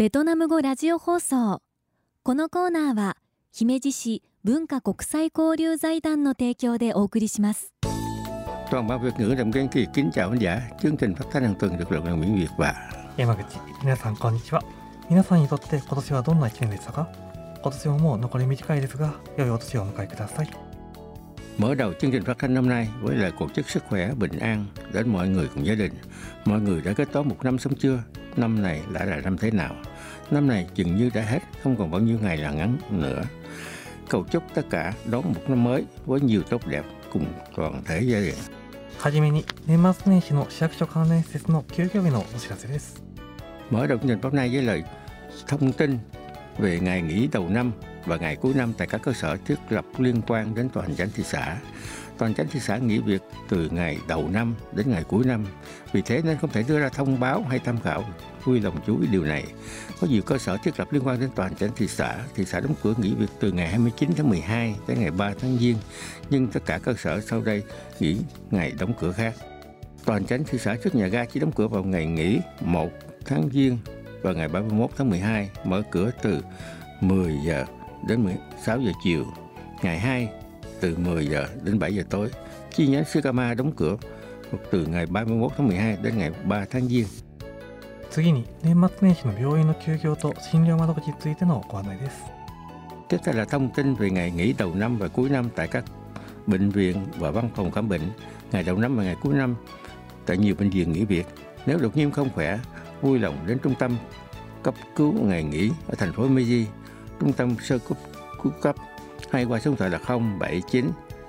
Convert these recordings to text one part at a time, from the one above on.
ベトナム語ラジオ放送。このコーナーは姫路市文化国際交流財団の提供でお送りします。 Toàn ban Việt ngữ Đàm Kiên Kỳ kính chào khán giả. Chương trình phát thanh hàng tuần được lượng bằng tiếng Việt và 山口、皆さんこんにちは。皆さんにとって今年はどんな1年でしたか？今年ももう残り短いですが、良いお年をお迎えください。 Mở đầu chương trình phát thanh năm nay với lời cầu chúc sức khỏe, bình an đến mọi người cùng gia đình. Mọi người đã kết toán một năm xong chưa? Năm này đã là năm thế nào? Năm này chừng như đã hết, không còn bao nhiêu ngày là ngắn nữa. Cầu chúc tất cả đón một năm mới với nhiều tốt đẹp cùng toàn thể gia đình. はじめに年末年始の市役所関連施設の休業日のお知らせです。 Mở đầu chương trình hôm nay với lời thông tin về ngày nghỉ đầu năm và ngày cuối năm tại các cơ sở thiết lập liên quan đến toàn chánh thị xã. Toàn chánh thị xã nghỉ việc từ ngày đầu năm đến ngày cuối năm, vì thế nên không thể đưa ra thông báo hay tham khảo. Vui lòng chú ý điều này. Có nhiều cơ sở thiết lập liên quan đến toàn chánh thị xã đóng cửa nghỉ việc từ ngày 29 tháng 12 đến ngày 3 tháng Giêng, nhưng tất cả cơ sở sau đây nghỉ ngày đóng cửa khác. Toàn chánh thị xã trước nhà ga chỉ đóng cửa vào ngày nghỉ 1 tháng Giêng và ngày 31 tháng 12, mở cửa từ 10 giờ đến 16 giờ chiều, ngày 2 từ 10 giờ đến 7 giờ tối. Chi nhánh Sugama đóng cửa từ ngày 31 tháng 12 đến ngày 3 tháng Giêng. 次に年末年始の病院の休業と診療窓口についてのご案内です。 Tiếp theo là thông tin về ngày nghỉ đầu năm và cuối năm tại các bệnh viện và văn phòng khám bệnh. Ngày đầu năm và ngày cuối năm tại nhiều bệnh viện nghỉ việc. Nếu đột nhiên không khỏe, vui lòng đến trung tâm cấp cứu ngày nghỉ ở thành phố Meiji, trung tâm sơ cứu cấp, hay qua số điện thoại là 079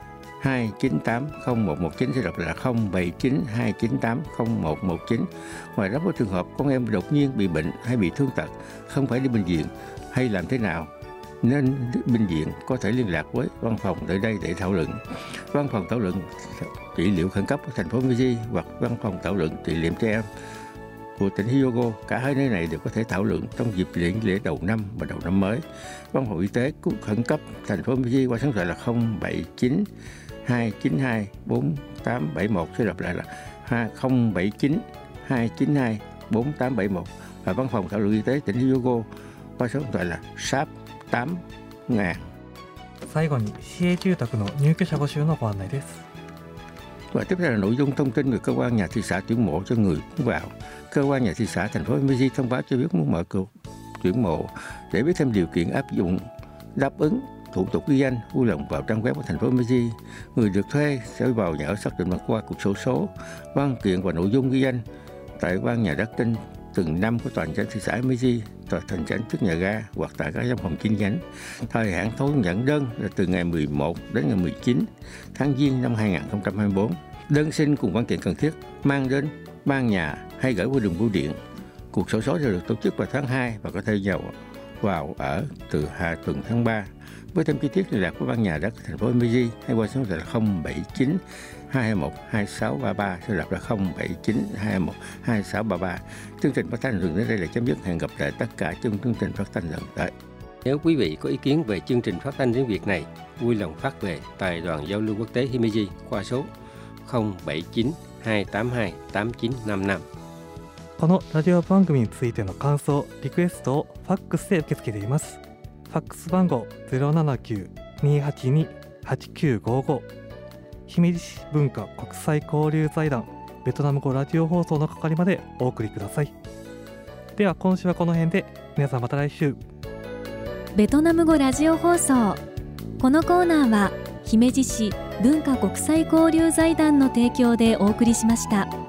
298 0119, sẽ đọc là 079 298 0119. Ngoài ra, với trường hợp con em đột nhiên bị bệnh hay bị thương tật, không phải đi bệnh viện hay làm thế nào, nên bệnh viện có thể liên lạc với văn phòng tại đây để thảo luận. Văn phòng thảo luận trị liệu khẩn cấp ở thành phố Meiji hoặc văn phòng thảo luận trị liệu trẻ em của tỉnh Hyogo, cả hai nơi này đều có thể thảo luận trong dịp lễ đầu năm và đầu năm mới. Văn phòng y tế khẩn cấp thành phố Meiji qua số điện thoại là 079 292 4871, sẽ đọc lại là 079 292 4871, và văn phòng thảo luận y tế tỉnh Hyogo qua số điện thoại là SHARP 8000. 最後に市営住宅の入居者募集のご案内です。 Và tiếp theo là nội dung thông tin về cơ quan nhà thị xã tuyển mộ cho người muốn vào. Cơ quan nhà thị xã thành phố Meiji thông báo cho biết muốn mở cửa tuyển mộ. Để biết thêm điều kiện áp dụng đáp ứng thủ tục ghi danh, vui lòng vào trang web của thành phố Meiji. Người được thuê sẽ vào nhà ở xác định qua cục sổ số, văn kiện và nội dung ghi danh tại ban nhà đất trên từng năm của toàn chánh thị xã Meiji, tòa thành chánh trước nhà ga hoặc tại các văn phòng chi nhánh. Thời hạn thu nhận đơn là từ ngày 11 đến ngày 19 tháng Giêng năm 2024. Đơn xin cùng văn kiện cần thiết mang đến ban nhà hay gửi qua đường bưu điện. Cuộc sổ số sẽ được tổ chức vào tháng 2 và có thể vào ở từ hạ tuần tháng 3. Với thêm chi tiết liên lạc với ban nhà đất thành phố Meiji hay qua số điện thoại là 079 221 2633, sẽ đọc là 079 221 2633. Chương trình phát thanh thường đến đây là chấm dứt. Hẹn gặp lại tất cả trong chương trình phát thanh lần tới. Nếu quý vị có ý kiến về chương trình phát thanh tiếng Việt này, vui lòng phát về Đài đoàn giao lưu quốc tế Himeji qua số 079 282 8955。 このラジオ番組についての感想、リクエストをファックスで受け付けています。ファックス番号 079-282-8955、 姫路市文化国際交流財団ベトナム語ラジオ放送の係までお送りください。では今週はこの辺で、皆さんまた来週。 ベトナム語ラジオ放送。このコーナーは姫路市文化国際交流財団の提供でお送りしました。